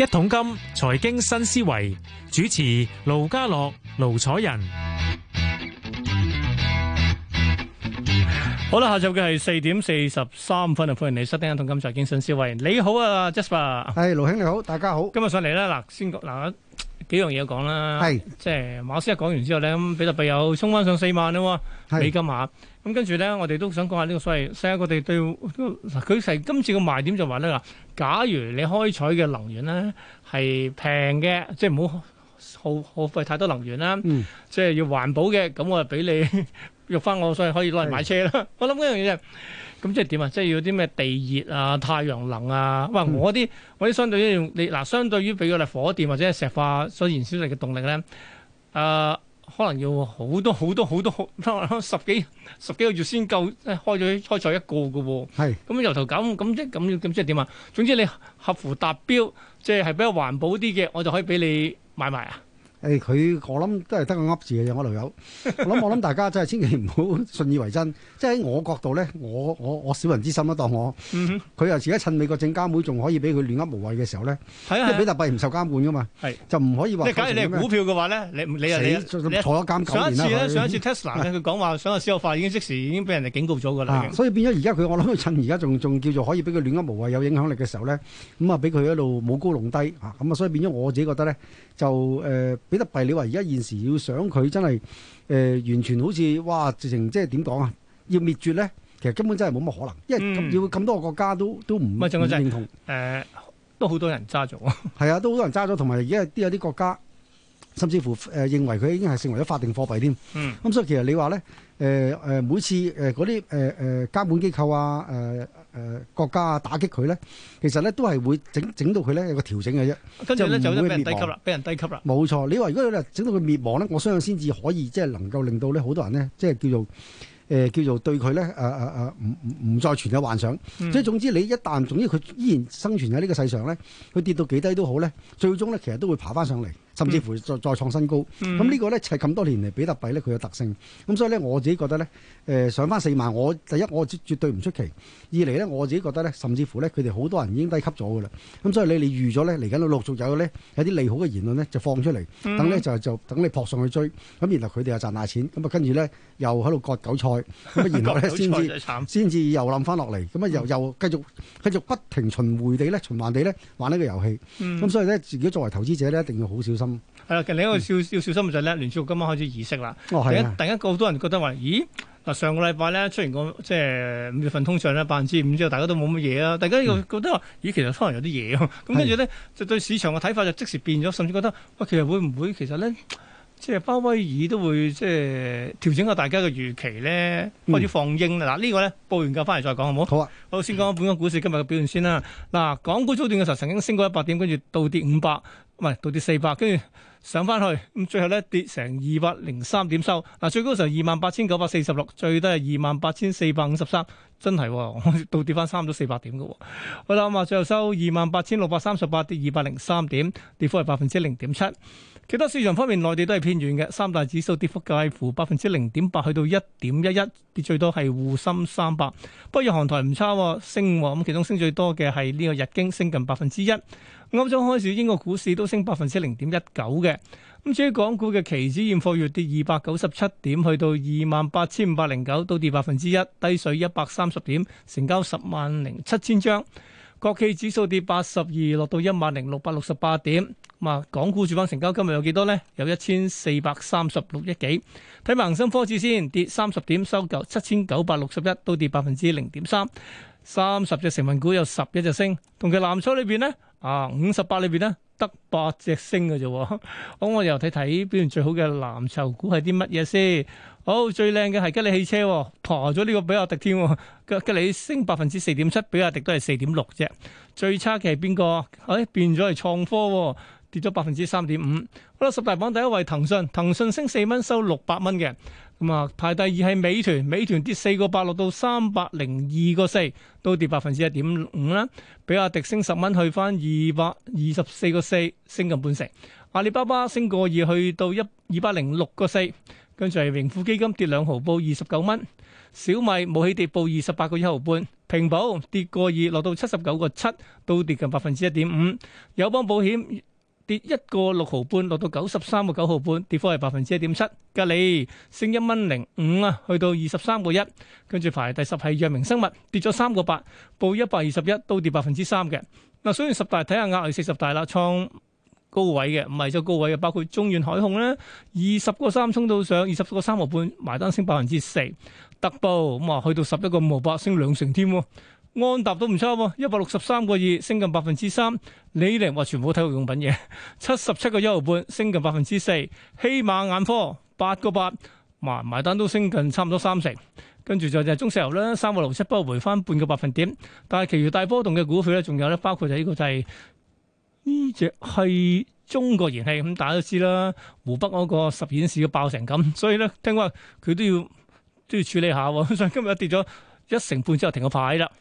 一桶金財經新思維主持盧家樂、盧楚仁。 好啦，下晝嘅係4:43啊，歡迎你收聽一桶金財經新思維。你好啊 Jasper， 係盧兄你好，大家好。 今日上嚟咧，嗱先嗱幾樣嘢講啦， 係即係馬斯克講完之後咧，咁比特幣又衝翻上4萬啦，美金下。咁跟住咧，我哋都想講下呢個所謂世界各地對佢係今次個賣點就話咧，假如你開採嘅能源咧係平嘅，即係唔好耗費太多能源啦，即係要環保嘅，咁我就俾你用翻我，所以可以攞嚟買車啦。我諗一樣嘢啫，咁即係點啊？即係要啲咩地熱啊、太陽能啊？哇！我啲相對於用你嗱，相對於俾個例火電或者係石化所燃燒嚟嘅動力咧，可能要好多十幾個月先夠開採一個嘅喎。係咁由頭搞咁即係點啊？總之你合乎達標，即係比較環保啲嘅，我就可以俾你買埋啊！ 佢我諗都係得個噏字嘅啫，我度有。我諗大家真係千祈唔好信以為真。即係喺我角度咧，我小人之心啦，當我佢又自己趁美國證監會仲可以俾佢亂噏無謂嘅時候咧，因為比特幣唔受監管噶嘛，就唔可以話。 假如你係股票嘅話咧，你坐咗監9年啦。 上一次 Tesla 咧，佢講話想個私有化已經即時已經俾人哋警告咗㗎啦。 所以變咗而家我諗佢趁而家仲叫做可以俾佢亂噏無謂有影響力嘅時候咧，咁啊俾佢一路舞高弄低啊，咁啊所以變咗我自己覺得咧就比特幣，你話而家現時要想佢真係完全好似哇，直情即係點講啊？要滅絕咧，其實根本真係冇乜可能，因為要咁多個國家都唔認同。 都好多人揸咗。 係啊，都好多人揸咗，同埋而家有啲國家甚至乎認為佢已經係成為咗法定貨幣添。咁所以其實你話咧每次嗰啲監管機構啊國家啊打擊佢咧，其實咧都係會整到佢咧有個調整嘅啫。 跟住咧就俾人低級啦，俾人低級啦。 冇錯，你話如果你整到佢滅亡咧，我相信先至可以即係能夠令到咧好多人咧即係叫做對佢咧唔再存有幻想。即係總之你一旦總之佢依然生存喺呢個世上咧，佢跌到幾低都好咧，最終咧其實都會爬翻上嚟，甚至乎再創新高。咁呢個咧就係咁多年嚟比特幣咧佢嘅特性。咁所以咧我自己覺得咧上翻4萬，第一我絕對唔出奇。二嚟咧我自己覺得咧，甚至乎咧佢哋好多人已經低級咗㗎啦。咁所以你預咗咧嚟緊陸續有咧有啲利好嘅言論咧就放出嚟，等咧就等你撲上去追。咁然後佢哋又賺大錢，咁啊跟住咧又喺度割韭菜，咁啊然後咧先至又冧翻落嚟，咁啊又繼續不停循環地咧玩呢個遊戲。咁所以咧自己作為投資者咧一定要好小心。係啦， 另一個要小心嘅就係咧，聯儲局今晚開始議息啦。突然間好多人覺得話，咦嗱，上個禮拜咧出現個即係5月份通脹咧5%之後，大家都冇乜嘢啊。大家又覺得話，咦其實可能有啲嘢啊。咁跟住咧就對市場嘅睇法就即時變咗，甚至覺得喂，其實會唔會其實咧即係鮑威爾都會即係調整下大家嘅預期咧，開始放鷹啦。嗱呢個咧報完價翻嚟再講好唔好？好啊。好，先講本港股市今日嘅表現先啦。嗱，港股早段嘅時候曾經升過100點，跟住倒跌500，唔係倒跌400，跟住上翻去，咁最後咧跌成203點收。嗱，最高嘅時候28,946，最低係28,453，真係倒跌翻差唔多400點嘅。好啦，咁啊最後收28,638，跌203點，跌幅係0.7%。其他市場方面，內地都係偏軟嘅，三大指數跌幅介乎0.8%去到1.11，跌最多係滬深300。不過日韓台唔差，升喎，咁其中升最多嘅係呢個日經，升近1%。歐洲開市，英國股市都升0.19%嘅。咁至於港股嘅期指現貨月跌297點，去到28,509，都跌1%，低水130點，成交10,700,000張。國企指數跌82，落到10,668點。咁啊，港股主板成交今日有幾多呢？有1,436億幾。睇埋恒生科指先，跌30點，收夠7,961，都跌0.3%。30隻成分股有11隻升，同期藍籌裏邊呢，58裏邊呢得8隻升嘅啫。咁我又睇睇表現最好嘅藍籌股係啲乜嘢先。好，最靚嘅係吉利汽車，爬咗呢個比亞迪添。吉利升4.7%，比亞迪都係4.6啫。最差嘅係邊個？變咗係創科，跌咗3.5%。好啦，十大榜第一位騰訊，騰訊升4蚊，收600蚊嘅。咁啊，排第二係美團，美團跌4個8，落到302個4，都跌1.5%啦。比亞迪升10蚊，去翻224個4，升近半成。阿里巴巴升個2，去到206個4。 跟住係盈富基金跌2毫，報29蚊。小米冇起跌，報28個1毫半。平保跌個2，落到79個7，都跌近1.5%。友邦保險跌1個6毫半，落到93個9毫半，跌幅係1.7%。吉利升1.05蚊啊，去到23個1。跟住排第10係藥明生物，跌咗3個8，報121，都跌3%嘅。嗱，雖然十大睇下額外40大啦，創高位嘅，唔係就高位嘅，包括中遠海控咧，20個3衝到上20個3毫半，埋單升4%。特步咁啊，去到11個5毫8，升2%添。安踏都唔差喎，163個2，升近3%。李寧話全部體育用品嘢，77個1毫半，升近4%。希瑪眼科8個8，埋單都升近差唔多30%。跟住就係中石油啦，3個6.7，不過回翻半個百分點。但係其餘大波動嘅股票咧，仲有咧，包括就係呢個就係呢隻係中國燃氣咁，大家都知啦，湖北嗰個實驗室要爆成咁，所以咧聽講佢都要處理下喎，所以今日跌咗1成半之後停個牌啦。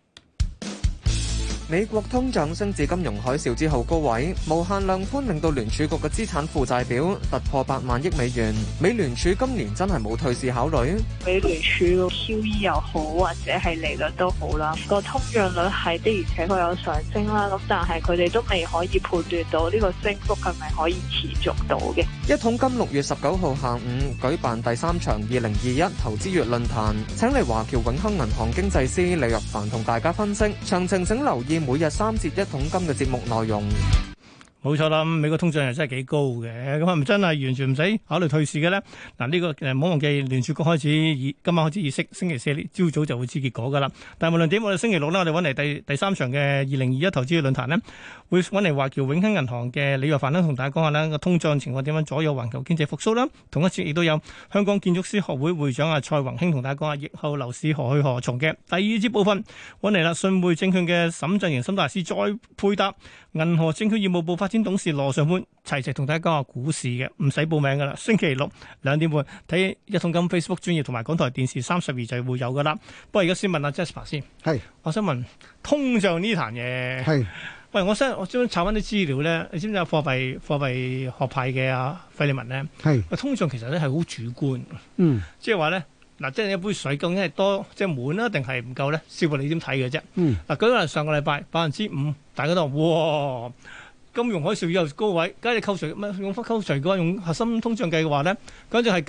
美國通脹升至金融海嘯之後高位，無限量寬令到聯儲局嘅資產負債表突破8萬億美元。美聯儲今年真係冇退市考慮。 美聯儲 QE 又好，或者係利率都好啦，個通脹率係的而且確有上升啦。咁但係佢哋都未可以判斷到呢個升幅係咪可以持續到嘅。 一桶金6月19號下午舉辦第3場2021投資月論壇，請嚟華僑永亨銀行經濟師李若凡同大家分析。詳情請留意每日3節1桶金嘅節目內容。 冇錯啦，美國通脹又真係幾高嘅，咁係咪真係完全唔使考慮退市嘅咧？嗱，呢個唔好忘記聯儲局開始今晚開始議息，星期4朝早就會知結果噶啦。但係無論點，我哋星期六咧，我哋揾嚟第3場嘅2021投資嘅論壇咧，會揾嚟華僑永亨銀行嘅李若凡咧，同大家講下呢個通脹情況點樣左右環球經濟復甦啦。同一節亦都有香港建築師學會會長阿蔡宏興同大家講下疫後樓市何去何從嘅。第二節部分揾嚟啦，信匯證券嘅沈振盈沈大師再配搭銀河證券業務部發展董事羅尚潘齊同大家講下股市嘅，唔使報名噶啦。星期六2點半睇一桶金 Facebook 專頁同埋港台電視32就會有噶啦。不過而家先問阿 Jasper 先， 係， 我想問通脹呢壇嘢，係，喂，我將查翻啲資料咧，你知唔知有貨幣學派嘅阿費利文咧？係，通脹其實咧係好主觀，即係話咧。嗱，即係一杯水究竟係多即係滿啦，定係唔夠咧？視乎你點睇嘅啫。嗱，舉個例，上個禮拜5%，大家都話哇，金融海嘯以後高位，假如你扣除用翻扣除嘅話，用核心通脹計嘅話咧，簡直係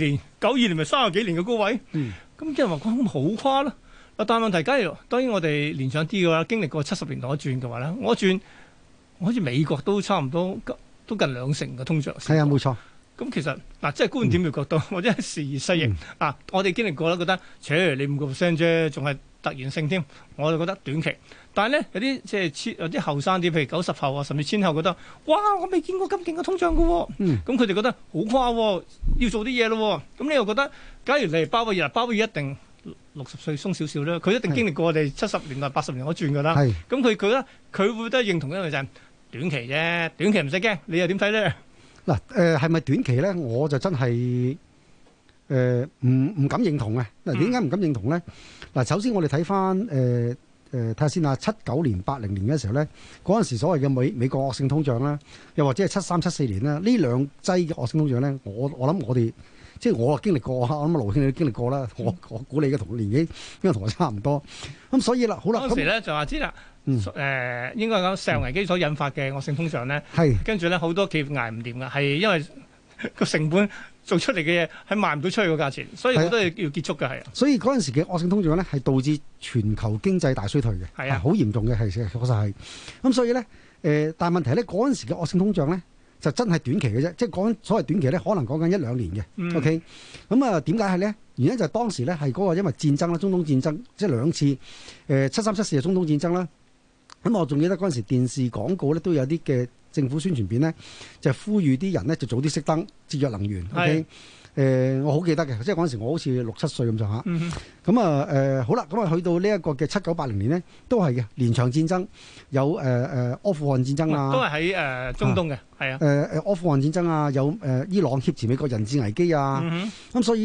92年咪30幾年嘅高位。咁即係話講好誇啦。但係問題，假如當然我哋連上啲嘅話，經歷過70年代一轉嘅話咧，我轉好似美國都差唔多都近2成嘅通脹。 係啊，冇錯。 咁其實嗱，即係觀點嘅角度，或者係時移世易嗱，我哋經歷過啦，覺得，你5% 啫，仲係突然性添，我就覺得短期。但係咧，有啲即係有啲後生啲，譬如90後啊，甚至千後覺得，哇！我未見過咁勁嘅通脹嘅喎。咁佢哋覺得好誇喎，要做啲嘢咯。咁你又覺得，假如你係鮑威爾一定60歲鬆少少啦，佢一定經歷過我哋70年代、80年嗰轉㗎啦。咁佢覺得佢會都認同一樣就係短期啫，短期唔使驚。你又點睇咧？ 嗱，係咪短期咧？我就真係唔敢認同嘅。嗱，點解唔敢認同咧？嗱，首先我哋睇翻睇下先啊，79年、80年嘅時候咧，嗰陣時所謂嘅美國惡性通脹啦，又或者係73、74年啦，呢兩劑嘅惡性通脹咧，我諗我哋即係我經歷過，我諗盧兄你都經歷過啦。我估你嘅同年紀應該同我差唔多。咁所以啦，好啦， 嗰時咧就話知啦。應該講石油危機所引發嘅惡性通脹咧，跟住咧好多企業捱唔掂㗎，係因為個成本做出嚟嘅嘢係賣唔到出去個價錢，所以好多嘢要結束嘅係。所以嗰陣時嘅惡性通脹咧係導致全球經濟大衰退嘅，係啊，好嚴重嘅係確實係。咁所以咧但係問題咧嗰陣時嘅惡性通脹咧就真係短期嘅啫，即係講所謂短期咧可能講緊1-2年嘅。OK， 咁啊點解係咧？原因就係當時咧係嗰個因為戰爭啦，中東戰爭即係2次73、74嘅中東戰爭啦。咁我仲記得嗰陣時電視廣告咧都有啲嘅政府宣傳片咧，就呼籲啲人咧就早啲熄燈，節約能源。OK，我好記得嘅，即係嗰陣時我好似6、7歲咁上下。咁啊好啦，咁啊去到呢一個嘅79、80年咧，都係嘅連場戰爭，有阿富汗戰爭啊， 都係喺中東嘅，係啊。 阿富汗戰爭啊，有伊朗挾持美國人質危機啊。咁所以咧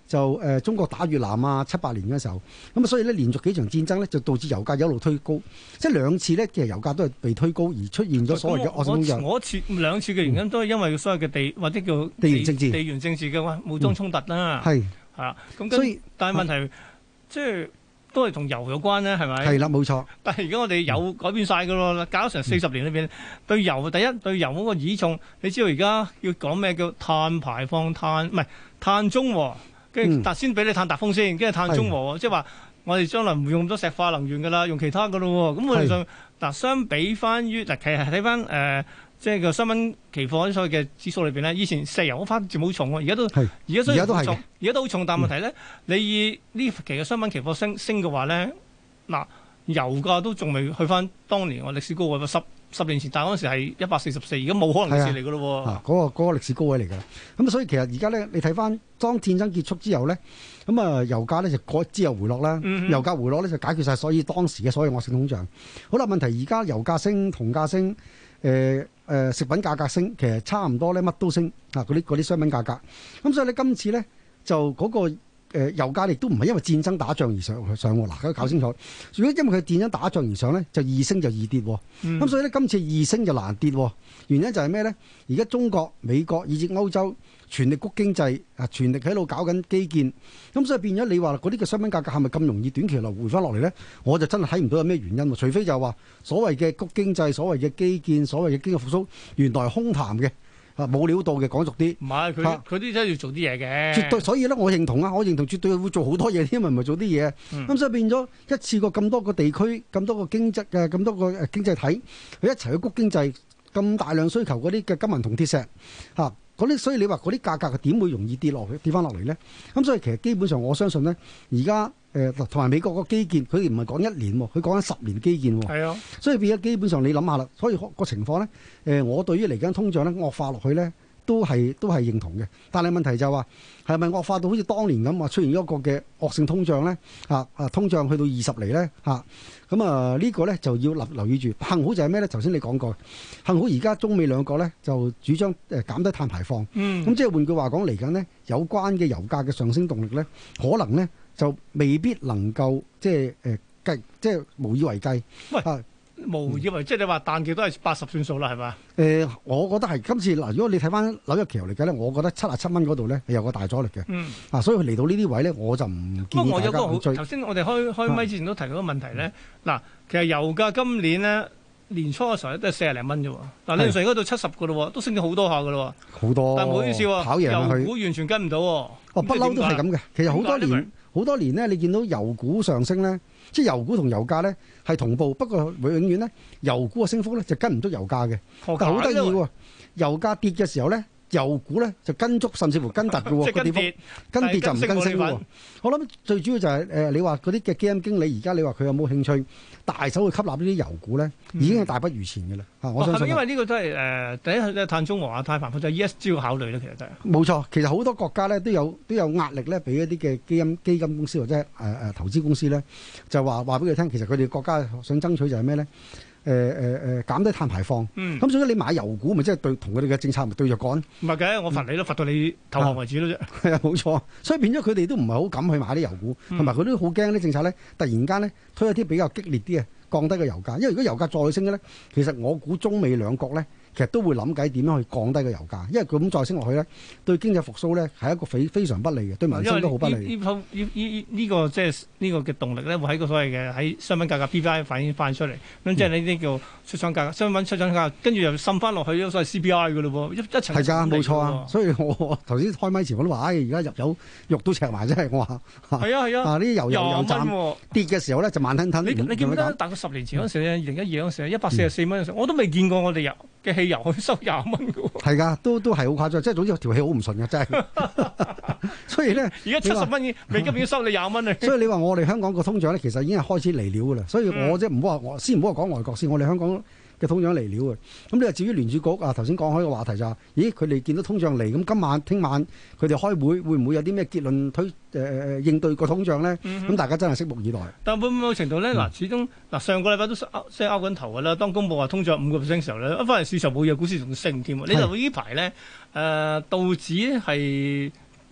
就中國打越南啊78年嘅時候，咁啊所以咧連續幾場戰爭咧就導致油價一路推高，即係兩次咧其實油價都係被推高而出現咗所謂嘅惡性通脹。 我兩次嘅原因都係因為所謂嘅地或者叫地緣政治、 地緣政治嘅武裝衝突啦。 係啊，咁所以但係問題即係都係同油有關咧，係咪？ 係啦，冇錯。 但係而家我哋油改變晒㗎咯，搞咗成40年裏邊，對油第一對油嗰個倚重，你知道而家要講咩叫碳排放唔係碳中和。跟住先俾你碳達峰先，跟住碳中和，即係話我哋將來唔用咁多石化能源㗎啦，用其他㗎咯喎。咁我哋就嗱相比翻於嗱，其實睇翻即係個商品期貨所謂嘅指數裏邊咧，以前石油嗰番佔好重喎，而家都好重，而家都好重。但係問題咧，你以呢期嘅商品期貨升嘅話咧，嗱油價都仲未去翻當年我歷史高位十年前，但係嗰陣時係144，而家冇可能嘅事嚟㗎咯喎。 嗰個歷史高位嚟㗎。咁所以其實而家咧，你睇翻當戰爭結束之後咧，咁啊油價咧就之後回落啦。油價回落咧就解決晒所以當時嘅所謂惡性通脹。好啦，問題而家油價升、銅價升、食品價格升，其實差唔多咧乜都升啊！嗰啲商品價格。咁所以咧今次咧就嗰個。油價亦都唔係因為戰爭打仗而上喎，嗱，搞清楚。如果因為佢戰爭打仗而上咧，就易升就易跌。咁所以咧，今次易升就難跌。原因就係咩咧？而家中國、美國以至歐洲全力谷經濟，全力喺度搞緊基建。咁所以變咗你話嗰啲嘅商品價格係咪咁容易短期內回翻落嚟咧？我就真係睇唔到有咩原因。除非就係話所謂嘅谷經濟、所謂嘅基建、所謂嘅經濟復甦，原來係空談嘅。冇料到嘅，講俗啲。唔係佢啲真係要做啲嘢嘅。 絕對，所以咧，我認同啊，我認同絕對會做好多嘢，因為唔係做啲嘢。咁所以變咗一次過咁多個地區、咁多個經濟嘅、咁多個經濟體，佢一齊去谷經濟，咁大量需求嗰啲嘅金銀銅鐵石嚇嗰啲，所以你話嗰啲價格點會容易跌翻落嚟咧？咁所以其實基本上我相信咧，而家同埋美國個基建，佢哋唔係講1年喎，佢講緊10年基建喎。係啊，所以變咗基本上你諗下啦，所以個情況咧，我對於嚟緊通脹咧惡化落去咧，都係認同嘅。但係問題就係話係咪惡化到好似當年咁話出現一個嘅惡性通脹咧？通脹去到20厘咧咁呢個咧就要留意住。幸好就係咩咧？頭先你講過，幸好而家中美兩個咧就主張減低碳排放。咁即係換句話講，嚟緊呢有關嘅油價嘅上升動力咧，可能咧就未必能夠即係無以為繼。喂無以為即係你話彈極都係80算數啦，係嘛？ 我覺得係今次嗱，如果你睇翻紐約期油嚟計咧，我覺得77蚊嗰度咧係有個大阻力嘅。所以佢嚟到呢啲位咧，我就唔建議大家去追。 頭先我哋開咪之前都提到個問題咧，嗱，其實油價今年咧年初嘅時候咧都係40零蚊啫喎，嗱，你上而家到70嘅咯，都升咗好多下嘅咯。好多，但係唔好意思喎， 跑贏佢， 油股完全跟唔到。 不嬲都係咁嘅。其實好多年咧，你見到油股上升咧，即係油股同油價咧係同步，不過永遠咧油股嘅升幅咧就跟唔足油價嘅。但係好得意喎，油價跌嘅時候咧，油股咧就跟足，甚至乎跟突嘅喎。個跌幅跟跌就唔跟升喎。我諗最主要就係你話嗰啲嘅基金經理，而家你話佢有冇興趣大手去吸納呢啲油股咧，已經係大不如前嘅啦。我相信。 因為呢個都係第一碳中和啊、碳排放就係 ESG 要考慮咧，其實就係。 冇錯，其實好多國家咧都有壓力咧，俾一啲嘅基金公司或者投資公司咧，就話俾佢聽，其實佢哋國家想爭取就係咩咧？減低碳排放。咁所以你買油股，咪即係同佢哋嘅政策咪對着幹？唔係嘅，我罰你都罰到你投降為止咯啫。係啊，冇錯。所以變咗佢哋都唔係好敢去買啲油股，同埋佢都好驚啲政策咧，突然間咧推一啲比較激烈啲嘅降低個油價。因為如果油價再升嘅咧，其實我估中美兩國咧，其實都會諗計點樣去降低個油價，因為佢咁再升落去咧，對經濟復甦咧係一個非常不利嘅，對民生都好不利。 呢個即係呢個嘅動力咧，會喺個所謂嘅喺商品價格 PPI 反映翻出嚟，咁即係呢啲叫出廠價格、商品出廠價格，跟住又滲翻落去呢個所謂 CPI 嘅咯喎，一層。係㗎，冇錯啊。所以我頭先開咪前我都話，而家入油肉都赤埋，真係我話。係啊係啊。呢啲油站跌嘅時候咧就慢吞吞。你記唔記得大概10年前嗰時咧，2012嗰時144蚊嗰時，我都未見過我哋嘅汽油去收20蚊嘅喎。係㗎，都係好誇張，即係總之條氣好唔順嘅，真係。所以咧，而家70蚊未急要收你20蚊啊！所以你話我哋香港個通脹咧，其實已經係開始嚟料㗎啦。所以我即係唔好話先唔好話講外國先，我哋香港嘅通脹嚟料嘅。咁你話至於聯儲局啊，頭先講開個話題就係，咦佢哋見到通脹嚟，咁今晚聽晚佢哋開會會唔會有啲咩結論應對個通脹咧？咁大家真係拭目以待。但係某程度咧，嗱始終嗱上個禮拜都即係拗緊頭㗎啦。當公佈話通脹5%嘅時候咧，一翻嚟市場冇嘢，股市仲升添。你就呢排咧道指係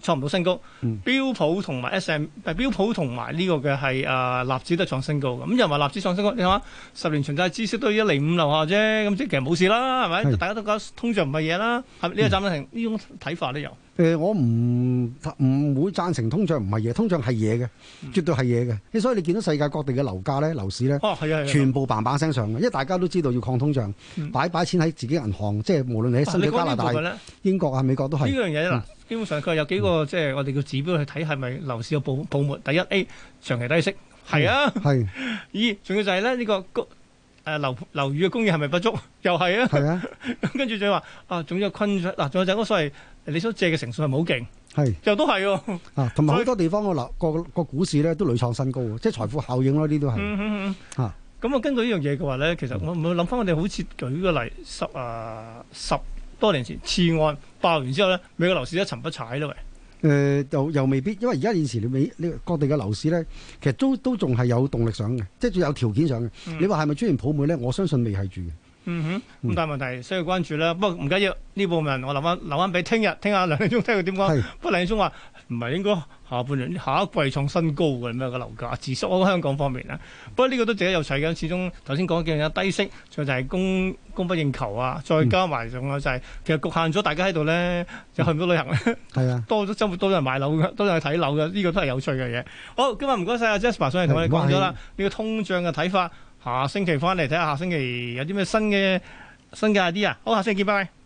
創唔到新高， 嗯標普同埋 標普同埋呢個嘅係納指都創新高嘅。咁又話納指創新高，你睇下10年長債孳息都1厘5樓下啫，咁即係其實冇事啦，係咪？ 係大家都覺得通脹唔係嘢啦，係咪？呢個暫停呢種睇法都有。 我唔會贊成通脹唔係嘢，通脹係嘢嘅，絕對係嘢嘅。所以你見到世界各地嘅樓價咧、樓市咧， 哦係啊， 全部砰砰聲上嘅，因為大家都知道要抗通脹，擺錢喺自己銀行，即係無論你喺新加加拿大、英國啊、美國都係呢樣嘢嗱。基本上佢有幾個即係我哋叫指標去睇係咪樓市有泡沫。第一 A 長期低息，係啊， 係。 二仲要就係咧呢個樓宇嘅供應係咪不足，又係啊， 係啊。 咁跟住就話仲有困咗嗱，仲有就係嗰所謂你所借嘅成數係咪好勁？ 係， 又都係喎。 同埋好多地方個股市咧都屢創新高喎，即係財富效應咯，呢啲都係。 咁根據呢樣嘢嘅話咧，其實我諗翻我哋好似舉個例，十多年前次按爆完之後咧，美國樓市一沉不踩啦，喂。 又未必，因為而家現時你各地嘅樓市咧，其實都仲係有動力上嘅，即係仲有條件上嘅。你話係咪出現泡沫咧？我相信未係住嘅。 咁但係問題需要關注啦。不過唔緊要，呢部分我留翻俾聽下梁理中聽佢點講。不過梁理中話唔係應該下半年下一季創新高嘅咩個樓價，自縮喺香港方面啦。不過呢個都值得有趣嘅，始終頭先講嘅有低息，仲有就係供不應求啊，再加埋仲有就係其實局限咗大家喺度咧，就去唔到旅行咧。係啊，多咗周末多咗人買樓嘅，多咗人去睇樓嘅，呢個都係有趣嘅嘢。好，今日唔該晒阿 Jasper 上嚟同我哋講咗啦，呢個通脹嘅睇法。下星期翻嚟睇下，下星期有啲咩新嘅 idea。好，下星期見，拜拜。